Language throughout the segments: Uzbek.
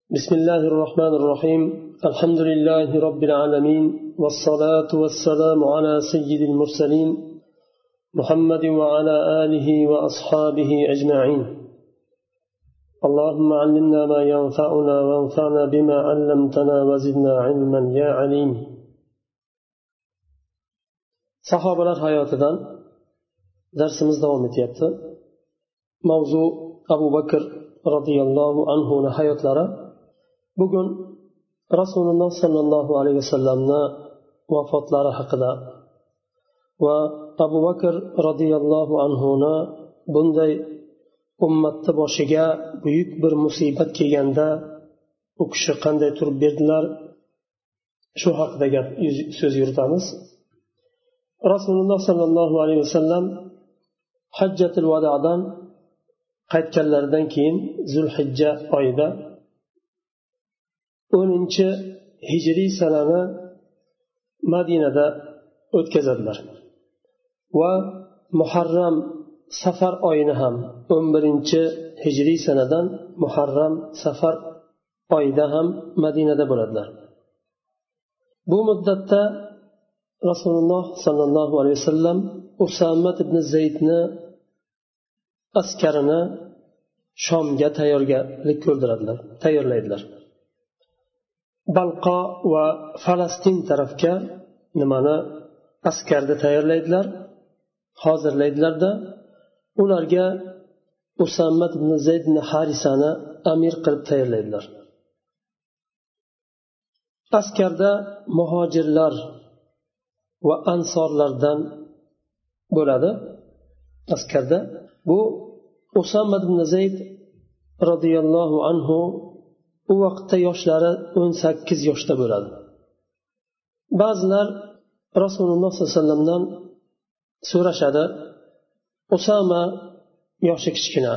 بسم الله الرحمن الرحيم الحمد لله رب العالمين والصلاة والسلام على سيد المرسلين محمد وعلى آله وأصحابه أجمعين اللهم علمنا ما ينفعنا وانفعنا بما علمتنا وزدنا علما يا عليم. Sahobalar hayotidan darsimiz davom etyapti. Mavzu Abu Bakr radhiyallohu anhuning hayotlari. Bugun Rasululloh sallallohu alayhi vasallamni vafotlari haqida va Abu Bakr radhiyallohu anhuni bunday ummatni boshiga buyuk bir musibat kelganda u kishi qanday turib berdilar, shu haqida so'z yuritamiz. Rasululloh sallallohu alayhi vasallam hajjatul vadodan qaytganlaridan keyin Zulhijja oyida 10-hijriy sanani Madinada o'tkazadilar va Muharram Safar oyini ham 11-hijriy sanadan Muharram Safar oyida ham Madinada bo'ladilar. Bu muddatda Rasululloh sallallohu alayhi vasallam Usama ibn Zaydni askarini Shomga tayyorlaydilar. Balqo va Falastin tarafga askarni tayyorlaydilar, hozirlaydilarda ularga Usama ibn Zaydni Harisani amir qilib tayyorlaydilar. Askarda muhojirlar va ansorlardan bo'ladi. Askarda bu Usama ibn Zayd radhiyallohu anhu u vaqtda yoshlari 18 yoshda bo'ladi. Ba'zilar Rasululloh sallallohu alayhi vasallamdan so'rashadi, Usama yoshi kichkina,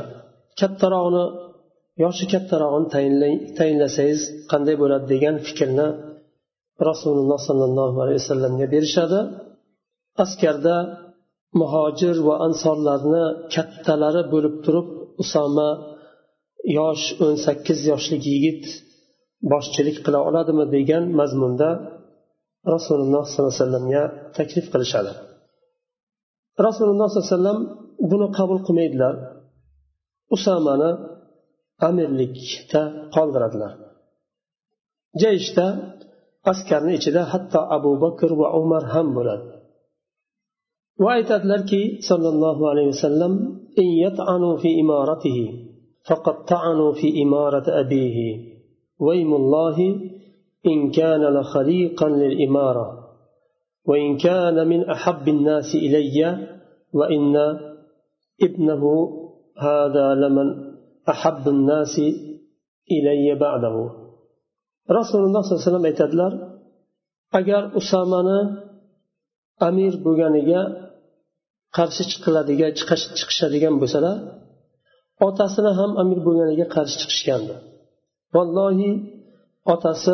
yoshi kattarog'ini tayinlasangiz qanday bo'ladi degan fikrni Rasululloh sallallohu alayhi vasallamga berishadi. Askarda muhojir va ansorlarni kattalari bo'lib turib, Usama yosh 18 yoshlik yigit boshchilik qila oladimi degan mazmunda Rasululloh sallallohu alayhi vasallamga taklif qilishadi. Rasululloh sallallohu alayhi vasallam buni qabul qilmaydilar. Usamani amirlikda qoldiradilar. Jayishda askarning ichida hatto Abu Bakr va Umar ham bo'ladi. Va aytadilarki sallallohu alayhi vasallam in yat'anu fi imaratihi faqad ta'anu fi imarati abihi wa imullahi in kana la khaliqan lil imara wa in kana min ahabbi an-nasi ilayya wa inna ibnahu hada laman ahabbu an-nasi ilayya ba'dahu. Rasululloh sallallohu alayhi vasallam aytadilar, agar Usamani amir bo'lganiga qarshi chiqishadigan bo'lsalar, otasini ham amir bo'lganiga qarshi chiqishgandi. Vallohi otasi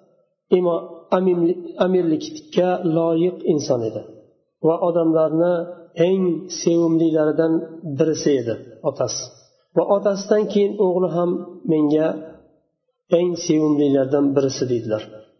amirlikka loyiq inson edi va odamlarni eng sevimlilaridan birisi edi otasi. Va otasidan keyin o'g'li ham menga eng sevimlilardan birisi dedilar.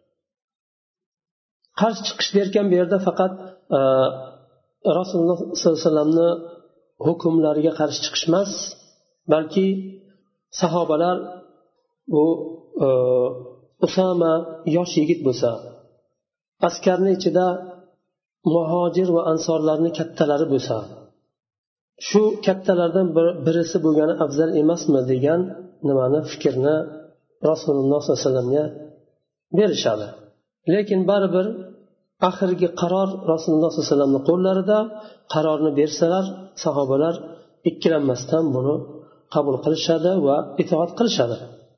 Qarshi chiqish derkan bu yerda faqat Rasululloh sollallohu alayhi vasallamni hukmlariga qarshi chiqish emas, balki sahobalar bu Usama yosh yigit bo'lsa, askarning ichida muhojir va ansorlarning kattalari bo'lsa, shu kattalardan birisi bo'lgani afzal emasmi degan fikrni Rasululloh sollallohu alayhi vasallamga berishadi. Lekin baribir oxirgi qaror Rasululloh sollallohu alayhi vasallamning qo'llarida. Qarorni bersalar, sahobalar ikkilanmasdan buni qabul qilishadi va itoat qilishadi.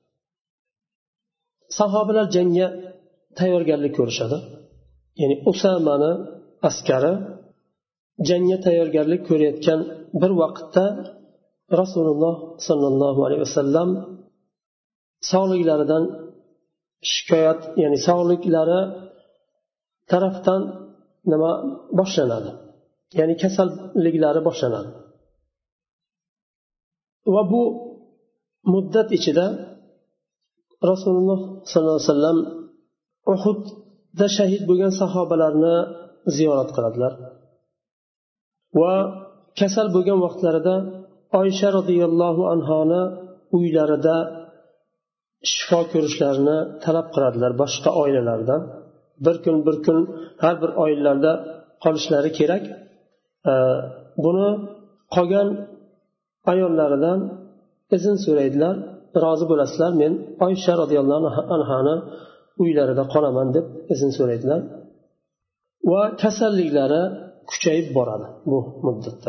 Sahobalar jangga tayyorgarlik ko'rishadi. Ya'ni Usamani askari jangga tayyorgarlik ko'rayotgan bir vaqtda Rasululloh sallallohu alayhi vasallam sog'liklaridan shikoyat, ya'ni sog'liklari tarafdan boshlanadi. Ya'ni kasalliklari boshlanadi. Va bu muddat ichida rasululloh sollallohu alayhi vasallam Uhudda shahid bo'lgan sahobalarni ziyorat qiladilar va kasal bo'lgan vaqtlarida Oysha roziyallohu anhoni uylarida shifo ko'rishlarini talab qiladilar boshqa oilalardan. Bir kun har bir oilalarda qolishlari kerak. Buni qolgan ayollaridan izn so'raydilar, rozi bo'lasizlar, men Oysha roziyallohu anhoni uylarida qolaman deb izn so'raydilar. Va kasalliklari kuchayib boradi bu muddatda.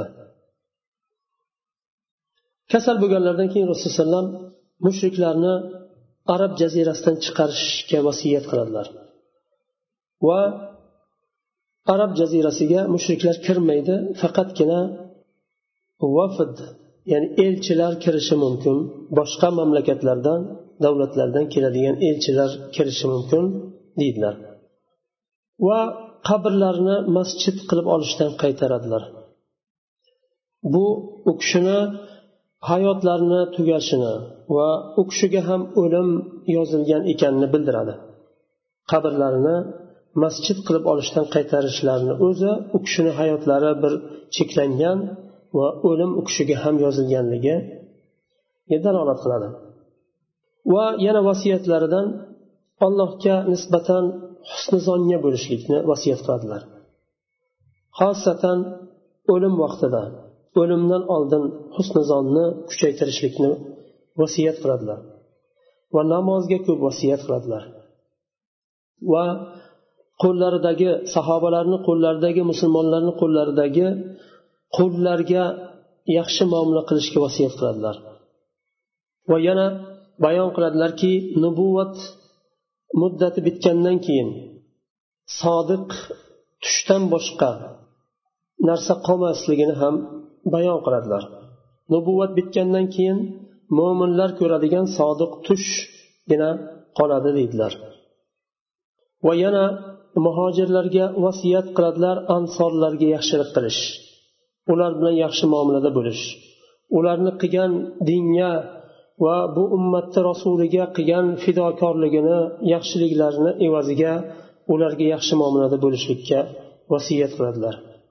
Kasal bo'lganlardan keyin Rasululloh sallam mushriklarni Arab jazirasidan chiqarishga vasiyat qiladilar. Va Arab jazirasiga mushriklar kirmaydi, faqatgina vafd, ya'ni elchilar kirishi mumkin. Boshqa mamlakatlardan, davlatlardan keladigan elchilar kirishi mumkin deydilar. Va qabrlarni masjid qilib olishdan qaytaradilar. Bu u kishini hayotlarini tugashini va u kishiga ham o'lim yozilgan ekanini bildiradi. Qabrlarini masjid qilib olishdan qaytarishlarini o'zi u kishini hayotlari bir cheklangan va o'lim u kishiga ham yozilganligiga dalolat qiladi. Va yana vasiyatlaridan Allohga nisbatan husni zonga bo'lishlikni vasiyat qiladilar. Xosatan o'lim vaqtida, o'limdan oldin husni zonni kuchaytirishlikni vasiyat qiladilar. Va namozga ko'p vasiyat qiladilar. Va qo'llaridagi sahobalarning qo'llaridagi, musulmonlarning qo'llaridagi qo'llarga yaxshi muomala qilishga vasiyat qiladilar. Va yana bayon qiladilarki, nubuvat muddati bitgandan keyin sodiq tushdan boshqa narsa qolmasligini ham bayon qiladilar. Nubuvat bitgandan keyin mo'minlar ko'radigan sodiq tushgina qoladi deydilar. Va yana muhojirlarga vasiyat qiladilar, ansorlarga yaxshilik qilish, ular bilan yaxshi muomalada bo'lish, ularni qilgan dinga va bu ummatda rasuliga qilgan fidokorligini, yaxshiliklarini evaziga ularga yaxshi muomalada bo'lishlikka vasiyat qiladilar.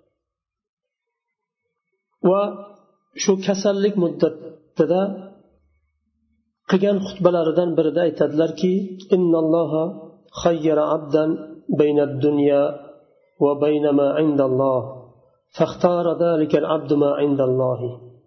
Va shu kasallik muddatida qilgan xutbalaridan birida aytadilarki, innalloha khayyara abdan bayna ad-dunya va bayna ma indalloh fakhtara zalika al-abdu ma indalloh.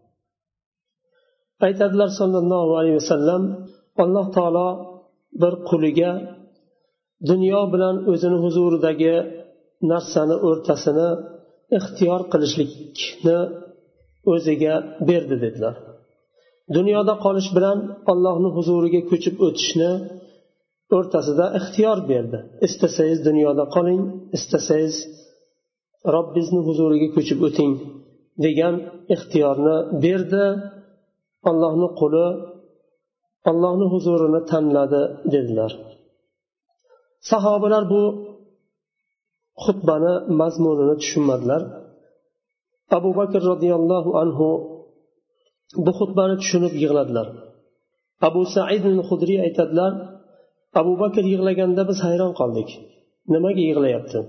Aytadilar sallallohu alayhi vasallam, Alloh taolo bir quliga dunyo bilan o'zini huzuridagi narsani o'rtasini ixtiyor qilishlikni o'ziga berdi dedilar. Dunyoda qolish bilan Allohning huzuriga ko'chib o'tishni o'rtasida ixtiyor berdi. Istasangiz dunyoda qoling, istasangiz Robbingizning huzuriga ko'chib o'ting degan ixtiyorni berdi. Allohning quli Allohning huzurini tanladi dedilar. Sahobalar bu xutbani mazmunini tushunmadilar. Abu Bakr radhiyallohu anhu bu xutbani tushunib yig'ladilar. Abu Sa'id al-Khudri aytadilar, Abu Bakr yig'laganda biz hayron qoldik. Nimaga yig'layapti?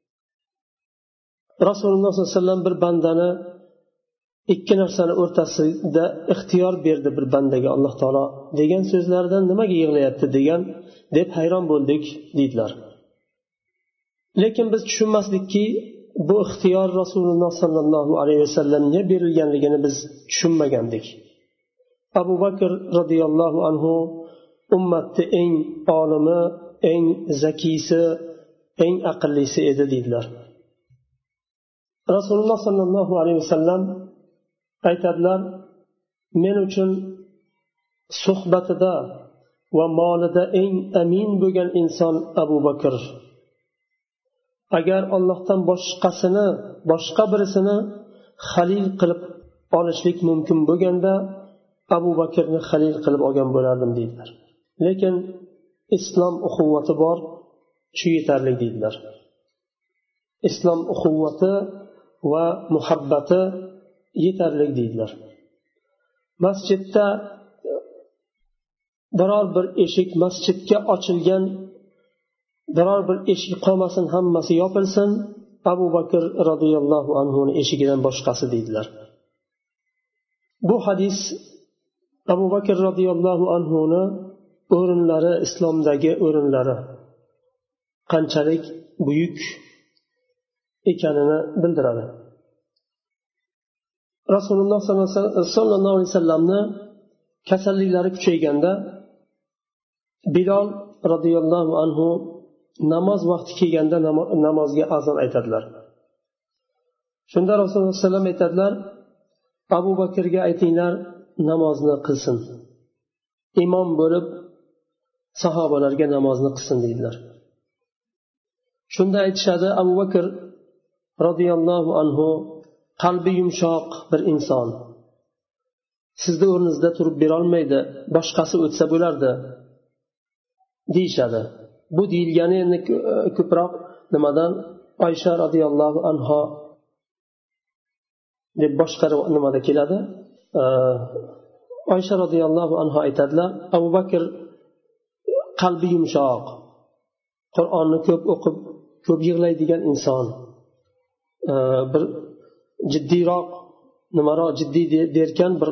Rasululloh sollallohu alayhi vasallam bir bandani ikki narsani o'rtasida ixtiyor berdi bir bandaga Alloh taolo degan so'zlardan nimaga yig'layapti degan deb hayron bo'ldik deydilar. Lekin biz tushunmaslikki, bu ixtiyor Rasululloh sollallohu alayhi vasallamga berilganligini biz tushunmagandik. Abu Bakr radhiyallohu anhu ummatning eng olimi, eng zakisi, eng aqllisi edi deydilar. Rasululloh sollallohu alayhi vasallam aytadilar, men uchun suhbatida va molida eng amin bo'lgan inson Abu Bakr. Agar Allohdan boshqa birisini xalil qilib olishlik mumkin bo'lganda Abu Bakrni xalil qilib olgan bo'lardim deydilar. Lekin islom uxuvvati bor, shu yetarli deydilar. Islom uxuvvati va muhabbati yetarli deydilar. Masjidda biror bir eshik masjidga ochilgan biror bir eshik qolmasin, hammasi yopilsin, Abu Bakr radhiyallohu anhuni eshigidan boshqasi deydilar. Bu hadis Abu Bakr radhiyallohu anhuni o'rinlari, islomdagi o'rinlari qanchalik buyuk ekanini bildiradi. Rasululloh sollallohu alayhi vasallamni kasalliklari kuchayganda Bilol radhiyallohu anhu namoz vaqti kelganda namozga azon aytadilar. Shunda Rasululloh sollallohu alayhi vasallam aytadilar: Abu Bakrga aytinglar namozni qilsin, imom bo'lib sahobalarga namozni qilsin deydilar. Shunda aytishadi, Abu Bakr radhiyallohu anhu qalbi yumshoq bir inson, sizni o'rningizda turib berolmaydi, boshqasi o'tsa bo'lardi deyishadi. Bu deyilgani endi ko'proq nimadan? Oysha radhiyallohu anha deb boshqa nimada keladi. Oysha radhiyallohu anha aytadilar, Abu Bakr qalbi yumshoq, Qur'onni ko'p o'qib, ko'p yig'laydigan inson, bir jiddiyroq, nimaroq jiddiy derkan, bir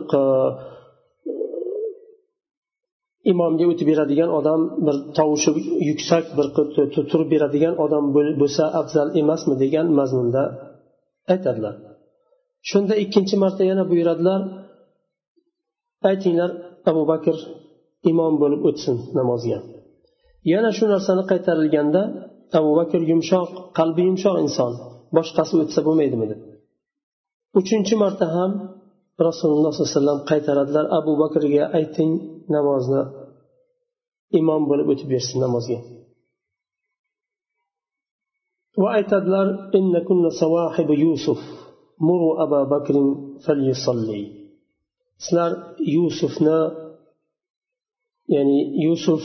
imomga o'tib beradigan odam, bir tovushi yuksak, bir turib beradigan odam bo'lsa afzal emasmi degan mazmunda aytadilar. Shunda ikkinchi marta yana buyuradilar, aytinglar Abu Bakr imom bo'lib o'tsin namozga. Yana shu narsani qaytarilganda Abu Bakr yumshoq, qalbi yumshoq inson, boshqasi o'tsa bo'lmaydimi deb. Uchinchi marta ham Rasululloh sollallohu alayhi vasallam qaytaradilar, Abu Bakrga ayting namozni imom bo'lib o'tib bersin namozga. Va aytadilar, innakunna sawahibu Yusuf muru Abu Bakrin falyusalli. Sizlar Yusufni, ya'ni Yusuf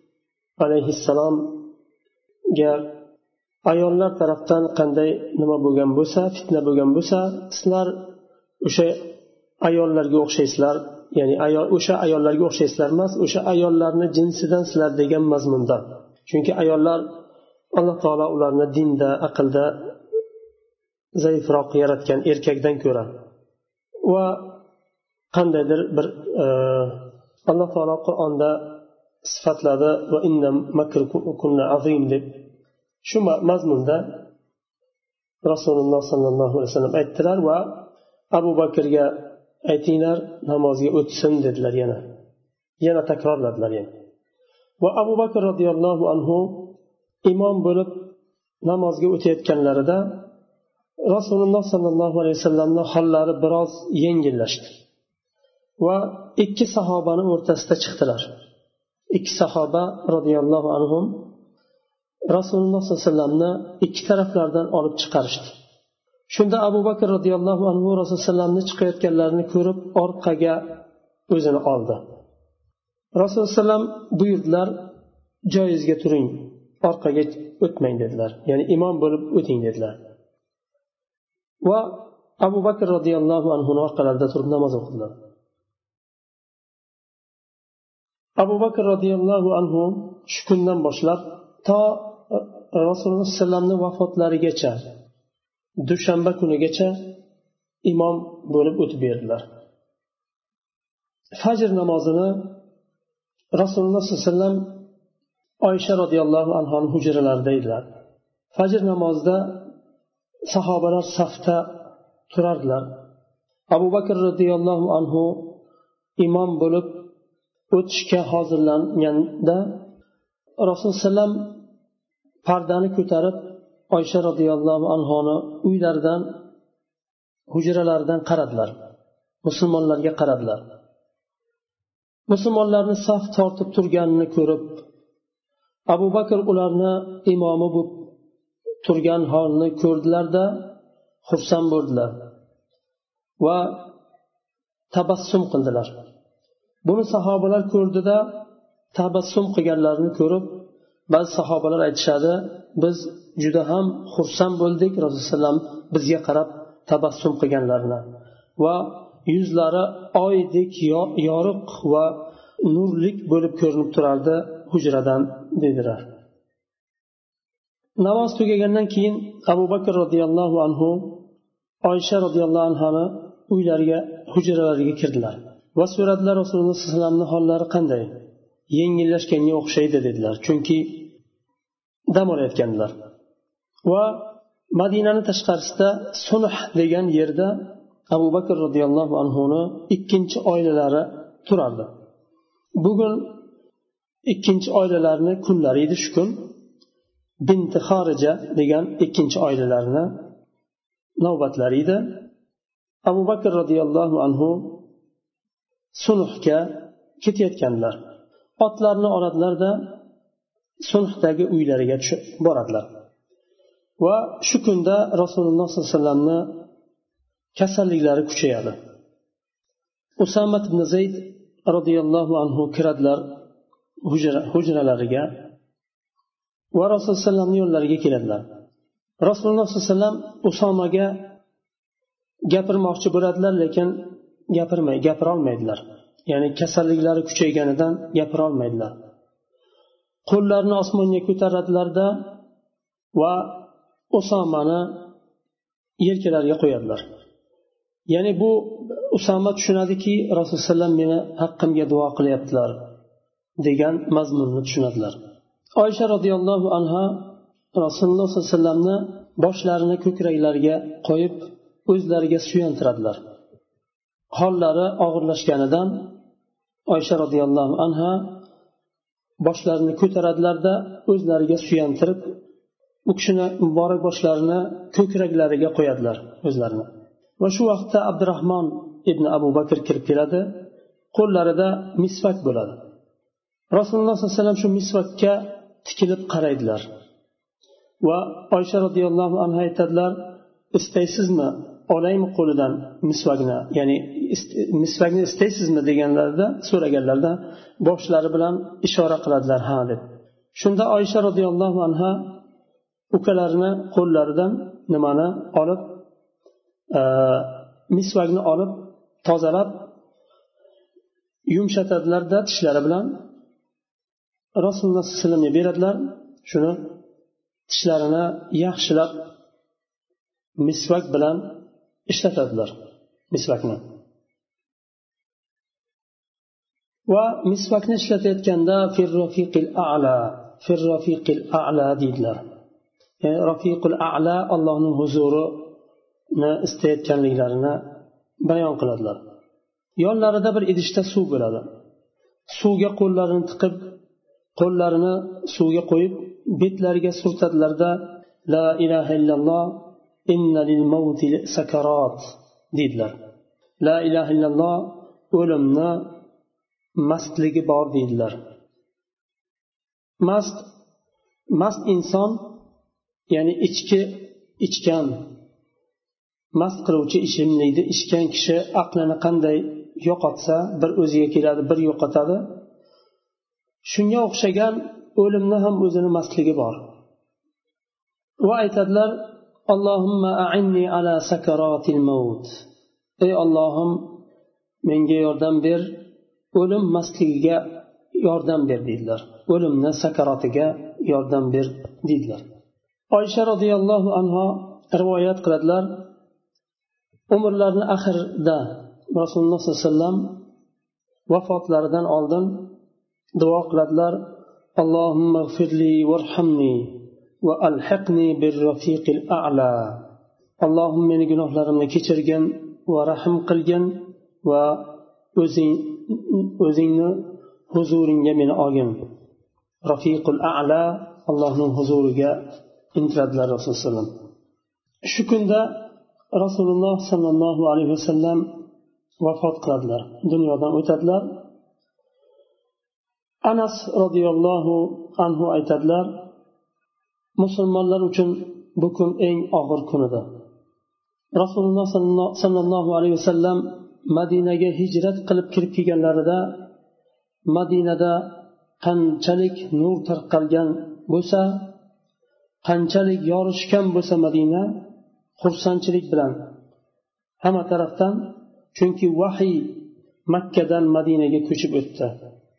alayhissalomga ayollar tarafdan qanday nima bo'lgan bo'lsa, fitna bo'lgan bo'lsa, sizlar o'sha ayollarga o'xshaysizlar, ya'ni o'sha ayollarga o'xshaysizlar emas, o'sha ayollarni jinsidan sizlar degan mazmunda. Chunki ayollar Alloh taolo ularni dinda, aqlda zaifroq yaratgan erkakdan ko'ra. Va qandaydir bir Alloh taolo Qur'onda sifatladi va inna makrukunna azim deb. Shu mazmunda Rasululloh sollallohu alayhi vasallam aytdilar va Abu Bakrga aytinglar namozga o'tsin dedilar yana takrorladilar yana. Va Abu Bakr radhiyallohu anhu imom bo'lib namozga o'tayotganlarida Rasululloh sollallohu alayhi vasallamning hollari biroz yengillashdi va ikki sahobani o'rtasida chiqdilar. Ikki sahoba radhiyallohu anhum Rasululloh sollallohu alayhi vasallamni ikki taraflardan olib chiqarishdi. Shunda Abu Bakr radhiyallohu anhu Rasululloh sallamni chiqayotganlarini ko'rib orqaga o'zini oldi. Rasululloh sallam buyurdilar, joyingizga turing, orqaga o'tmang dedilar. Ya'ni imom bo'lib o'ting dedilar. Va Abu Bakr radhiyallohu anhu orqalarida turib namoz o'qidilar. Abu Bakr radhiyallohu anhu shu kundan boshlab to Rasululloh sallamning vafotlarigacha dushanba kunigacha imom bo'lib o'tib berdilar. Fajr namozini Rasululloh sollallohu alayhi vasallam Oysha radhiyallohu anhoning hujralarida edilar. Fajr namozida sahobalar safda turardilar. Abu Bakr radhiyallohu anhu imom bo'lib o'tishga hozirlanganda Rasululloh sallam pardani ko'tarib Oysha radhiyallohu anhoni uylaridan, hujralaridan qaradilar. Musulmonlarga qaradilar. Musulmonlarni saf tortib turganini ko'rib, Abu Bakr ularni imomi bo'lib turgan holni ko'rdilarda xursand bo'ldilar va tabassum qildilar. Buni sahobalar ko'rdida tabassum qilganlarini ko'rib, ba'zi sahobalar aytishadi, biz juda ham xursand bo'ldik Rasululloh bizga qarab tabassum qilganlarini va yuzlari oydek yoriq va nurlik bo'lib ko'rinib turardi hujradan dedilar. Namoz tugagandan keyin Abu Bakr roziyallohu anhu Oysha roziyallohu anhoni uylariga, hujralariga kirdilar va so'radilar, Rasululloh sollallohu alayhi vasallamning hollari qanday? Yengillashganga o'xshaydi dedilar, chunki dam olayotgandilar. Va Madinaning tashqarisida Sunh degan yerda Abu Bakr roziyallohu anhuni ikkinchi oilalari turardi. Bugun ikkinchi oilalarning kunlari edi shu kun. Bint Xorija degan ikkinchi oilalarni navbatlari edi. Abu Bakr roziyallohu anhu Sunhga ketayotganlar. Otlarni oladilarda Sunhdagi uylariga boradilar. Va shu kunda Rasululloh sollallohu alayhi vasallamning kasalliklari kuchayadi. Usama ibn Zayd roziyallohu anhu kiradilar hujralariga va Rasululloh sollallohu alayhi vasallamning yo'llariga keladilar. Rasululloh sollallohu alayhi vasallam Usomaga gapirmoqchi bo'ladilar, lekin gapira olmaydilar. Ya'ni kasalliklari kuchayganidan gapira olmaydilar. Qo'llarini osmonga ko'taradilarda va Usomani yelkalariga qo'yadilar. Ya'ni bu Usoma tushunadiki, Rasululloh sallam meni haqqimga duo qilyaptilar degan mazmunni tushunadilar. Oysha radhiyallohu anha Rasululloh sollallohu alayhi vasallamni boshlarini ko'kraklariga qo'yib o'zlariga suyantiradilar. Hollari og'irlashganidan Oysha radhiyallohu anha boshlarini ko'taradilarda o'zlariga suyantirib u kishini muborak boshlarini ko'kraklariga qo'yadilar o'zlarini. Va shu vaqtda Abdurrahmon ibn Abu Bakr kirib keladi, qo'llarida misvak bo'ladi. Rasululloh sollallohu alayhi vasallam shu misvakka tikilib qaraydilar. Va Oysha radhiyallohu anha aytadilar, istaysizmi olaymi qo'lidan misvakni, ya'ni misvakni istaysizmi deganlarida, so'raganlarida boshlari bilan ishora qiladilar, ha deb. Shunda Oysha radhiyallohu anha ukalarini qo'llaridan nimani olib, misvakni olib tozalab yumshatadilarda tishlari bilan Rasululloh sollallohu alayhi vasallamga beradilar. Shuni tishlarini yaxshilab misvak bilan ishlatadilar misvakni. Va misvakni ishlatayotganda firrafiqil a'la deydilar. Ya'ni rafiqul a'la Allohning huzurini istayotganliklarini bayon qiladilar. Yonlarida bir idishda suv bo'ladi. Suvga qo'llarini tiqib, qo'llarini suvga qo'yib, betlariga surtadilarda la ilaha illalloh inna lil mauti sakarat deydilar. La ilaha illalloh o'limni mastligi bor deydilar. Mast inson, ya'ni ichgan mast qiluvchi ichimlikni ichgan kishi aqlini qanday yo'qotsa, bir o'ziga keladi, bir yo'qotadi. Shunga o'xshagan o'limni ham o'zini mastligi bor. Va aytadilar, Allohumma a'inni ala sakaratil maut. Ey Allohim, menga yordam ber, o'lim mastligiga yordam ber deydilar. O'limni sakarotiga yordam ber deydilar. Oysha radhiyallohu anha rivoyat qiladilar, umrlarining oxirida Rasululloh sollallohu alayhi vasallam vafotlaridan oldin duo qiladilar, Allohumma g'firli varhamni va alhiqni birrafiqil a'la. Allohim meni gunohlarimni kechirgin va rahim qilgin va o'zingni huzuringga meni olgin. Rafiqul a'la, Allohning huzuriga intiladilar Rasululloh sollallohu alayhi vasallam. Shu kunda Rasululloh sallallohu alayhi vasallam vafot qiladilar, dunyodan o'tadilar. Anas radhiyallohu anhu aytadilar, musulmonlar uchun bu kun eng og'ir kunidir. Rasululloh sallallohu alayhi vasallam Madinaga hijrat qilib kirib kelganlarida Madinada qanchalik nur tarqalgan bo'lsa, qanchalik yorishgan bo'lsa Madina, xursandchilik bilan hamma tarafdan, chunki vahiy Makkadan Madinaga ko'chib o'tdi.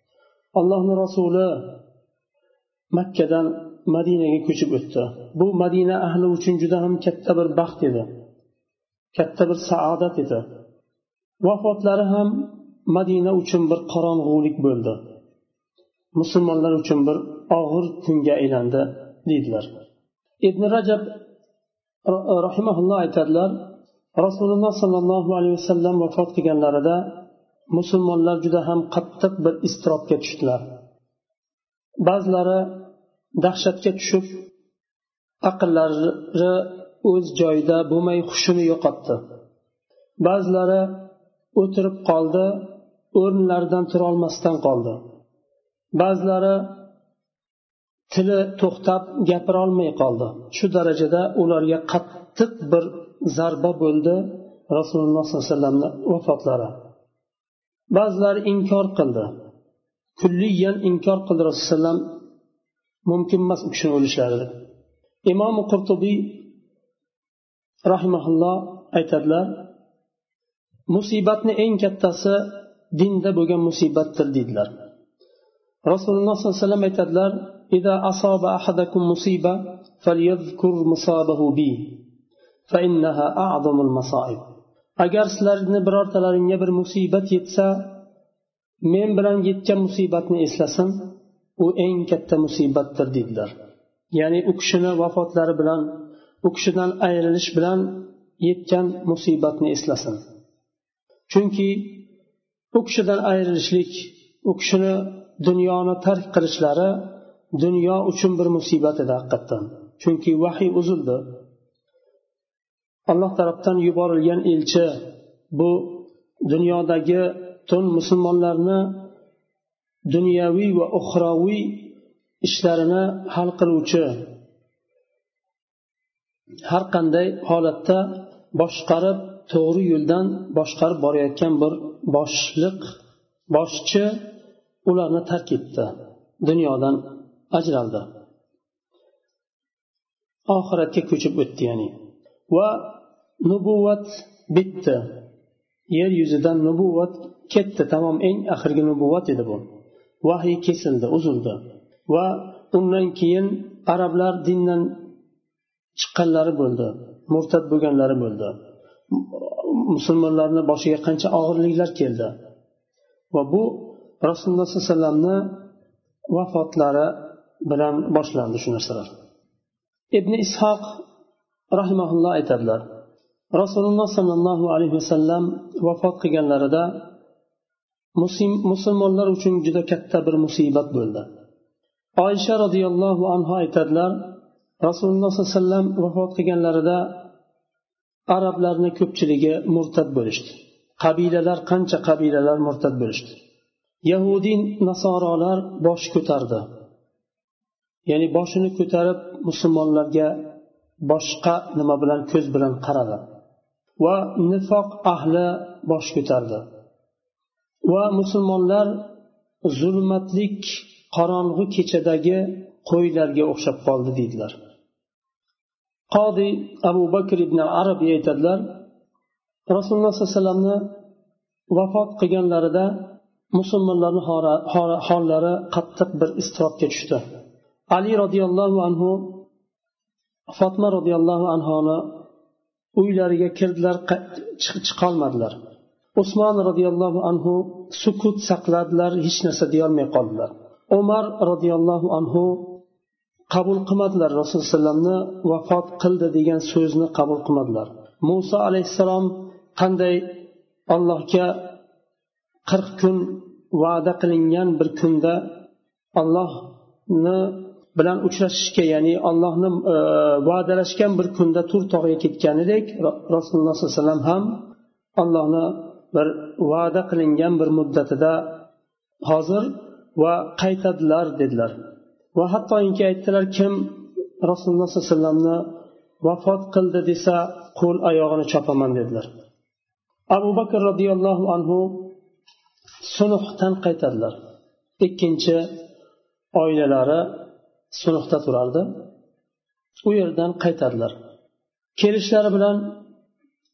allohni rasuli Makkadan Madinaga ko'chib o'tdi. Bu Madina ahli uchun juda ham katta bir baxt edi, katta bir saodat edi. Vafotlari ham Madina uchun bir qorong'ulik bo'ldi, musulmonlar uchun bir og'ir kunga aylandi deydilar. Ibn Rajab rahimahulloh aytadilar, Rasululloh sollallohu alayhi vasallam vafot qilganlarida musulmonlar juda ham qattiq bir iztirobga tushdilar. Ba'zilari dahshatga tushib, aqllari o'z joyida bo'lmay hushini yo'qotdi. Ba'zilari o'tirib qoldi, o'rnlaridan tura olmasdan qoldi. Ba'zilari tili to'xtab gapira olmay qoldi. Shu darajada ularga qattiq bir zarba bo'ldi Rasululloh sollallohu alayhi vasallamning vafotlari. Ba'zilari inkor qildi. Kulliyan inkor qildi Rasululloh mumkin emas u kishini o'lishlari. Imom Qurtubiy rahimahulloh aytadilar, musibatning eng kattasi dinda bo'lgan musibatdir dedilar. Rasululloh sollallohu alayhi vasallam aytadilar, "Idza asaba ahadakum musiba falyadhkur musabahu bi fa innaha a'zamul masa'ib." Agar sizlarni birortalaringga bir musibat yetsa, men bilan yetgan musibatni eslasin, u eng katta musibatdir dedilar. Ya'ni u kishini vafotlari bilan, u kishidan ayrilish bilan yetgan musibatni eslasin. Chunki u kishidan ayrilishlik, u kishini dunyoni tark qilishlari dunyo uchun bir musibat edi haqiqatan. Chunki vahiy uzildi. Alloh tarafdan yuborilgan elchi bu dunyodagi butun musulmonlarni dunyoviy va uxroviy ishlarini hal qiluvchi, har qanday holatda boshqarib, to'g'ri yo'ldan boshqarib borayotgan bir boshchi ularni tark etdi, dunyodan ajraldi, oxiratga ko'chib o'tdi. Ya'ni va nubuvat bitdi, yer yuzidan nubuvat ketdi, tamom, eng oxirgi nubuvat edi bu. Vahiy kesildi, uzildi va undan keyin arablar dindan chiqqanlari bo'ldi, murtad bo'lganlari bo'ldi. Musulmonlarning boshiga qancha og'irliklar keldi va bu Rasululloh sollallohu alayhi vasallamning vafotlari bilan boshlandi shu narsalar. Ibn Ishoq rahimahulloh aytadilar, Rasululloh sollallohu alayhi vasallam vafot qilganlarida musulmonlar uchun juda katta bir musibat bo'ldi. Oysha radhiyallohu anha aytadilar, Rasululloh sollallohu alayhi vasallam vafot qilganlarida arablarning ko'pchiligi murtad bo'lishdi. Qancha qabilalar murtad bo'lishdi. Yahudi nasorolar bosh ko'tardi. Ya'ni boshini ko'tarib musulmonlarga boshqa nima bilan, ko'z bilan qaradi. Va nifoq ahli bosh ko'tardi. Va musulmonlar zulmatlik qorong'u kechadagi qo'ylarga o'xshab qoldi deydilar. Qodi Abu Bakr ibn Arabiy aytadilar, Rasululloh sollallohu alayhi vasallamni vafot qilganlarida musulmonlarning hollari qattiq bir iztirobga tushdi. Ali radhiyallohu anhu, Fatma radhiyallohu anhoni uylariga kirdilar, chiqolmadilar. Usmon radhiyallohu anhu sukut saqladilar, hech narsa deya olmay qoldilar. Umar radhiyallohu anhu qabul qilmadilar, Rasululloh sallamni vafot qildi degan so'zni qabul qilmadilar. Musa alayhissalom qanday Allohga 40 kun va'da qilingan bir kunda Allohni bilan uchrashishga, ya'ni Allohni va'dalashgan bir kunda Tur tog'iga ketganidek, Rasululloh sollallohu alayhi vasallam ham Allohni bir va'da qilingan bir muddatida hozir va qaytadilar dedilar. Va hattoki aytdilar, kim Rasululloh sollallohu alayhi vasallamni vafot qildi desa qo'l oyog'ini chopaman dedilar. Abu Bakr radhiyallohu anhu Sunuhdan qaytadilar. Ikkinchi oilalari Sunuhda turardi. U yerdan qaytadilar. Kelishlari bilan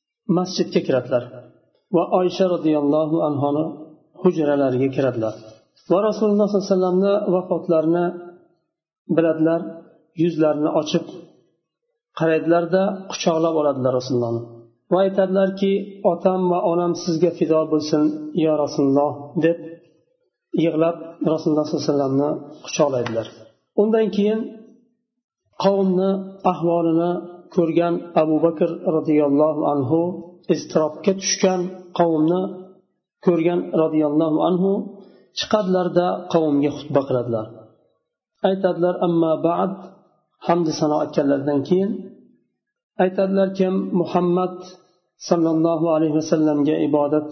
masjidga kiradilar va Oysha radhiyallohu anhoni hujralariga kiradilar. va rasululloh sollallohu alayhi vasallamni vafotlarini biladilar, yuzlarini ochib qaraydilarda quchoqlab oladilar rasulullohni va aytadilarki, otam va onam sizga fido bo'lsin yo rasululloh deb yig'lab rasululloh sollallohu alayhi vasallamni quchoqlaydilar. Undan keyin qavmni ahvolini ko'rgan Abu Bakr radhiyallohu anhu, iztirobga tushgan qavmni ko'rgan radhiyallohu anhu chiqadilarda qavmga xutba qiladilar. Aytadilar, amma ba'd, hamd sano aytganlaridan keyin aytadilar, kim Muhammad sallallohu alayhi vasallamga ibodat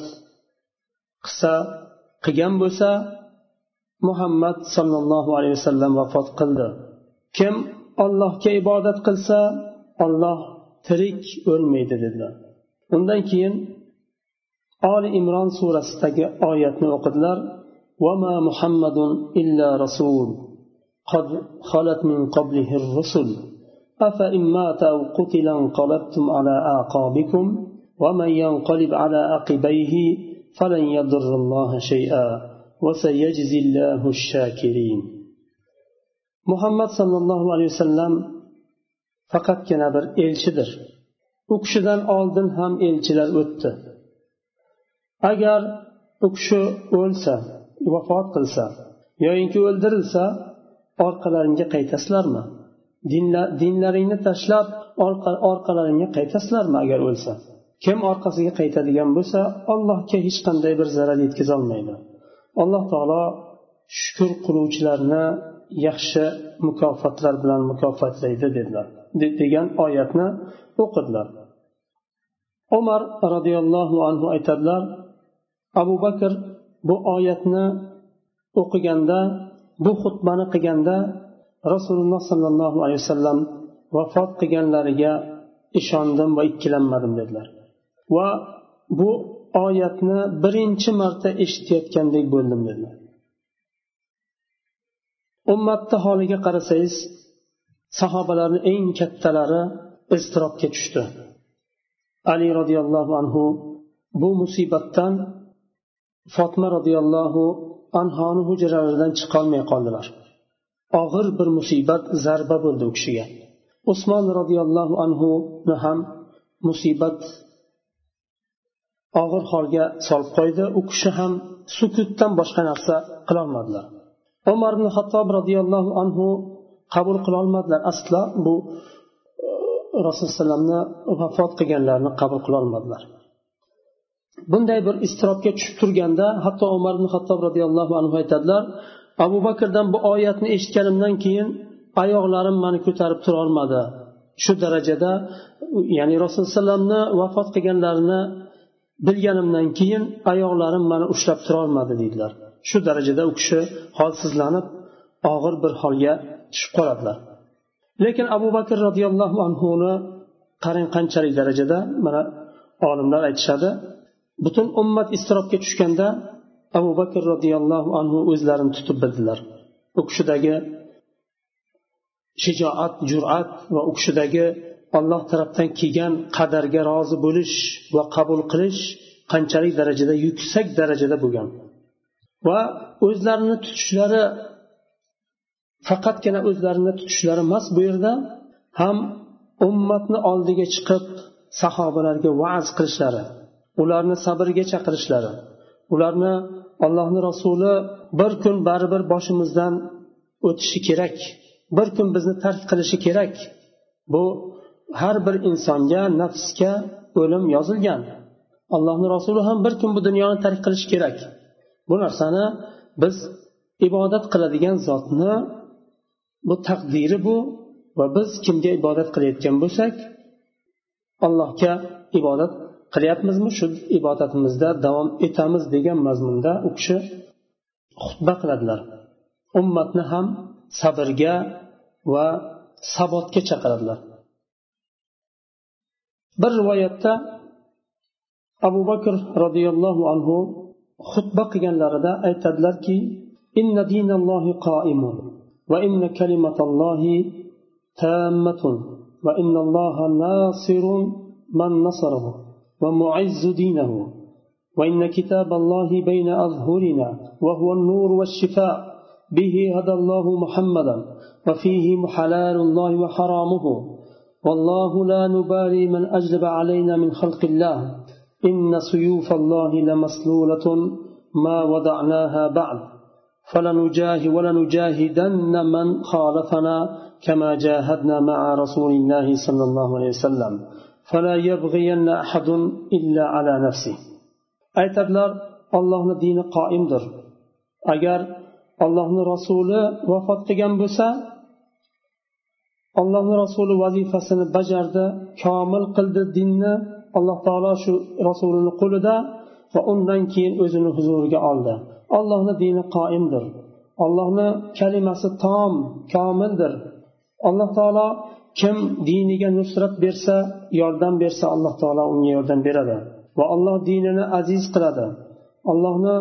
qilgan bo'lsa, Muhammad sallallohu alayhi vasallam vafot qildi. Kim Allohga ibodat qilsa, Alloh tirik o'lmaydi dedilar. Undan keyin Ali Imron surasidagi oyatni o'qidilar. Va ma Muhammadun illa rasul qad khalat min qablihi ar-rusul afa imma aw qutila qalabtum ala aqabikum wa man yanqalib ala aqibayhi falan yadurrullaha shay'a wa sayajzillahu ash-shakirin. Muhammad sallallohu alayhi vasallam faqatgina bir elchidir. U kishidan oldin ham elchilar o'tdi. Agar u kishi o'lsa, vafot qilsa yoki o'ldirilsa, orqalaringga qaytasizlarmi? Dinlaringni tashlab orqalaringga qaytasizlarmi agar o'lsa? Kim orqasiga qaytadigan bo'lsa, Allohga hech qanday bir zarar yetkaza olmaydi. Alloh taolo shukr qiluvchilarni yaxshi mukofotlar bilan mukofotlaydi dedilar degan oyatni o'qidilar. Umar radhiyallohu anhu aytadilar, Abu Bakr bu oyatni o'qiganda, bu xutbani qilganda Rasululloh sallallohu alayhi vasallam vafot qilganlariga ishondim va ikkilanmadim dedilar. Va bu oyatni birinchi marta eshitayotgandek bo'ldim dedilar. Ummatning holiga qarasangiz, sahobalarning eng kattalari iztirobga tushdi. Ali radhiyallohu anhu bu musibatdan Fatma radhiyallohu anhoni hujralaridan chiqolmay qoldilar. Og'ir bir musibat, zarba bo'ldi u kishiga. Usmon radhiyallohu anhu ni ham musibat og'ir holga solib qo'ydi. U kishi ham sukutdan boshqa narsa qila olmadilar. Umar ibn Xattob radhiyallohu anhu qabul qila olmadilar. Asla bu Rasululloh sallamni vafot qilganlarini qabul qila olmadilar. Bunday bir iztirobga tushib turganda, hatto Umar ibn Xattob radhiyallohu anhu aytadilar, Abu Bakrdan bu oyatni eshitganimdan keyin oyoqlarim meni ko'tarib tura olmadi. Shu darajada, ya'ni Rasululloh sallamni vafot qilganlarini bilganimdan keyin oyoqlarim meni ushlab tura olmadi dedilar. Shu darajada u kishi holsizlanib, og'ir bir holga tushib qoladilar. Lekin Abu Bakr radhiyallohu anhuni qarang qanchalik darajada, mana olimlar aytishadi, butun ummat iztirobga tushganda Abu Bakr radhiyallohu anhu o'zlarini tutib bildilar. U kishidagi shijoat, jur'at va u kishidagi Alloh tarafdan kelgan qadarga rozi bo'lish va qabul qilish qanchalik darajada, yuksak darajada bo'lgan. Va o'zlarini tutishlari, faqatgina o'zlarini tutishlari emas, bu yerda ham ummatni oldiga chiqib sahobalarga va'z qilishlari, ularni sabrga chaqirishlari, ularni Allohning rasuli bir kun baribir boshimizdan o'tishi kerak, bir kun bizni tark qilishi kerak. Bu har bir insonga, nafsga o'lim yozilgan. Allohning rasuli ham bir kun bu dunyoni tark qilishi kerak. Bu narsani biz ibodat qiladigan zotni bu taqdiri bu, va biz kimga ibodat qilayotgan bo'lsak, Allohga ibodat qilyapmizmi, shu ibodatimizda davom etamiz degan mazmunda u kishi xutba qiladilar. Ummatni ham sabrga va sabotga chaqiradilar. Bir rivoyatda Abu Bakr radhiyallohu anhu xutba qilganlarida aytadilarki, inna dinallohi qoimun va inna kalimatallohi tammatun va innalloha nasirun man nasarahu va mu'izzu dinahu va inna kitaballahi bayna azhurina وهو النور والشفاء به هدى الله محمدا وفيه حلال الله وحرامه والله لا نبالي من أجلب علينا من خلق الله إن سيوف الله لمسلولة ما وضعناها بعد ولنجاهدن من خالفنا كما جاهدنا مع رسول الله صلى الله عليه وسلم فلا يبغين أحد إلا على نفسه. aytadilar, Allohning dini qoimdir. Agar Allohning rasuli vafot qilgan bo'lsa, Allohning rasuli vazifasini bajardi, komil qildi dinni. Alloh taolo shu rasulini qo'lida va undan keyin o'zini huzuriga oldi. Allohning dini qoimdir. Allohning kalimasi tom, komildir. Alloh taolo kim diniga nusrat bersa, yordam bersa, Alloh taolo unga yordam beradi va Alloh dinini aziz qiladi. Allohning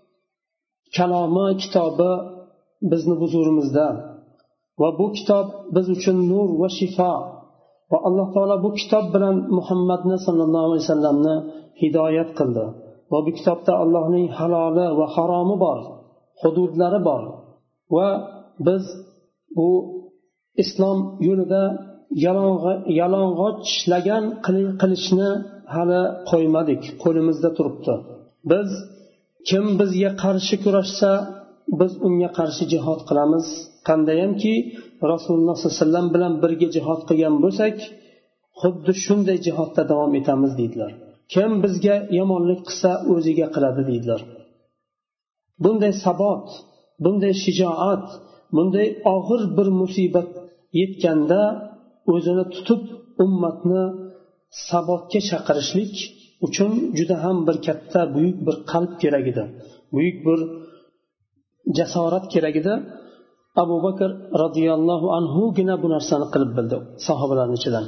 kalomi, kitobi bizni huzurimizda va bu kitob biz uchun nur va shifo. Va Alloh taolo bu kitob bilan Muhammadni sallallohu alayhi vasallamni hidoyat qildi. Va bu kitobda Allohning haloli va haromi bor, hududlari bor. Va biz bu islom yo'lida yalang'och ishlagan qilishni hali qo'ymadik, qo'limizda turibdi. Biz kim bizga qarshi kurashsa, biz unga qarshi jihad qilamiz. Qandayamki Rasululloh sollallohu alayhi vasallam bilan birga jihad qilgan bo'lsak, xuddi shunday jihodda davom etamiz deydilar. Kim bizga yomonlik qilsa, o'ziga qiladi deydilar. Bunday sabot, bunday shijoat, bunday og'ir bir musibat yetganda o'zini tutib ummatni sabotga chaqirishlik uchun juda ham bir katta, buyuk bir qalb kerak edi. Buyuk bir jasorat kerak edi. Abu Bakr radhiyallohu anhugina bu narsani qilib bildi sahobalarning ichidan.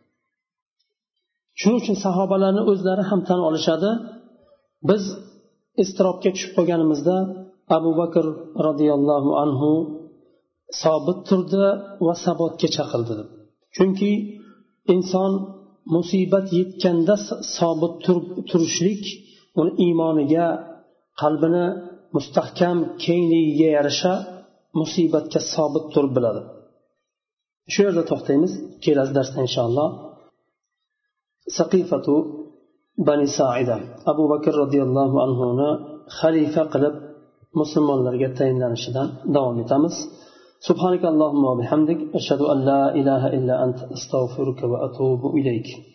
Shuning uchun sahobalarni o'zlari ham tan olishadi. Biz istirobga tushib qolganimizda Abu Bakr radhiyallohu anhu sobit turdi va sabotga chaqirdi. Chunki inson musibat yetganda sobit turishlik uni iymoniga, qalbini mustahkam kengligiga yarasha musibatga sobit turib biladi. Shu yerda to'xtaymiz. Kelasi darsda inshaalloh Saqifatu Bani Sa'ida Abu Bakr radhiyallohu anhuni xalifa qilib musulmonlarga tayinlanishidan davom etamiz. Subhanakallahumma va bihamdik ashhadu an la ilaha illa anta astaghfiruka va atubu ilayk.